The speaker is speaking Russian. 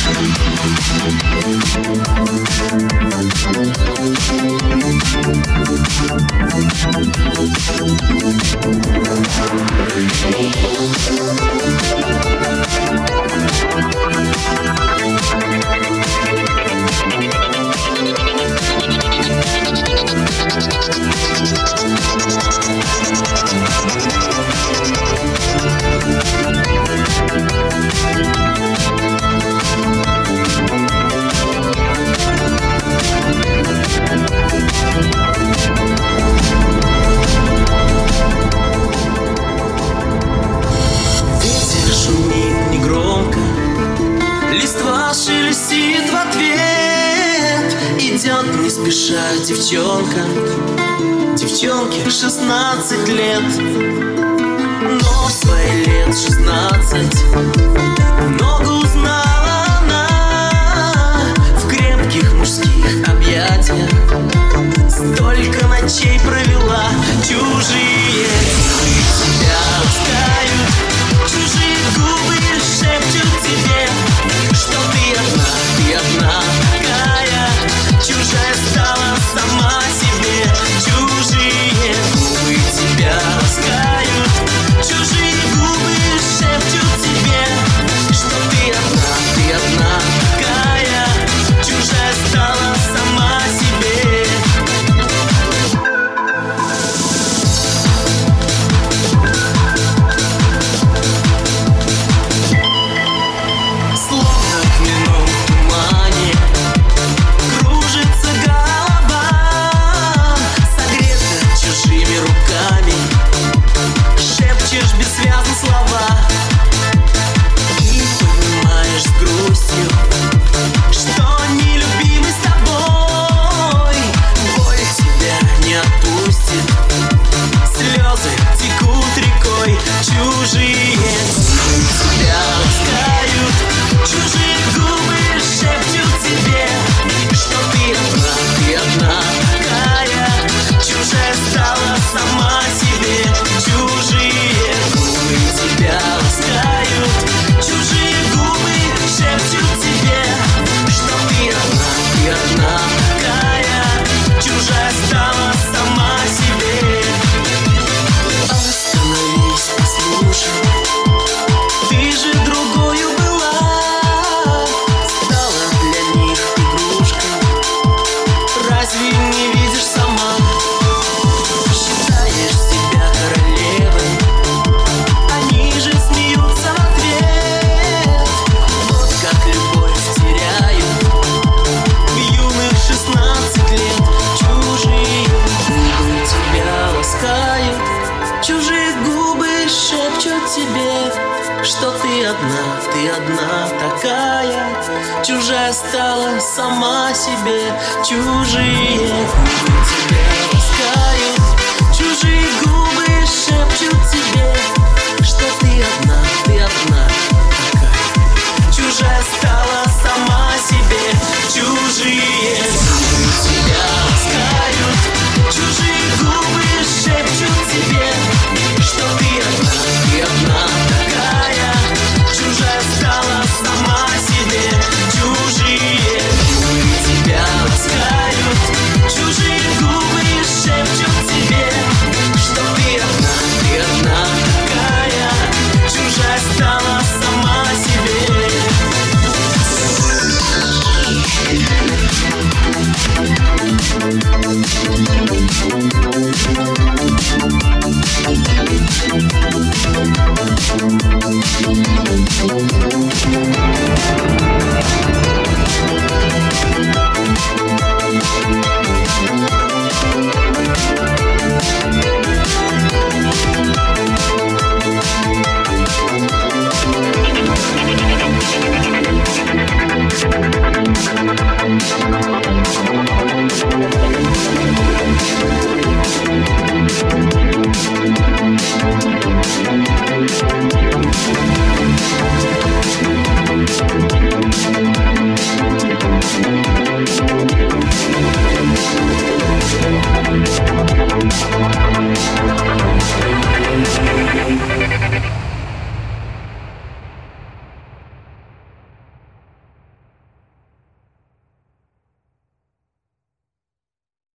Листва шелестит в ответ. Идет не спеша девчонка, девчонке 16 лет. Но в свои лет 16 много узнала она в крепких мужских объятиях. Столько ночей провела, чужие губы тебя ласкают, чужие губы шепчут тебе, что ты одна такая, чужая стала сама себе. Чужие губы тебя ласкают, чужие губы шепчут тебе, что ты одна такая, чужая стала сама себе. Слезы текут рекой, чужие губы тебя ласкают, чужие губы шепчут тебе, что ты одна такая, чужая стала сама себе. Чужие губы тебя ласкают, чужие губы шепчут тебе, что ты одна такая, чужая стала сама себе. Остановись, послушай, ты же другою была, стала для них игрушкой. Разве не видишь сама? Считаешь себя королевой, они же смеются в ответ. Вот как любовь теряют в юных 16 лет. Чужие губы тебя ласкают, чужие губы шепчут тебе, что ты одна такая, чужая стала сама себе. Чужие губы тебя ласкают, чужие губы шепчут тебе, что ты одна такая, чужая стала сама себе. Чужие губы тебя ласкают, чужие губы шепчут тебе, что ты одна такая, чужая стала сама себе. Чужие губы тебя ласкают, чужие губы шепчут тебе, что ты одна такая, чужая стала сама себе. We'll be right back.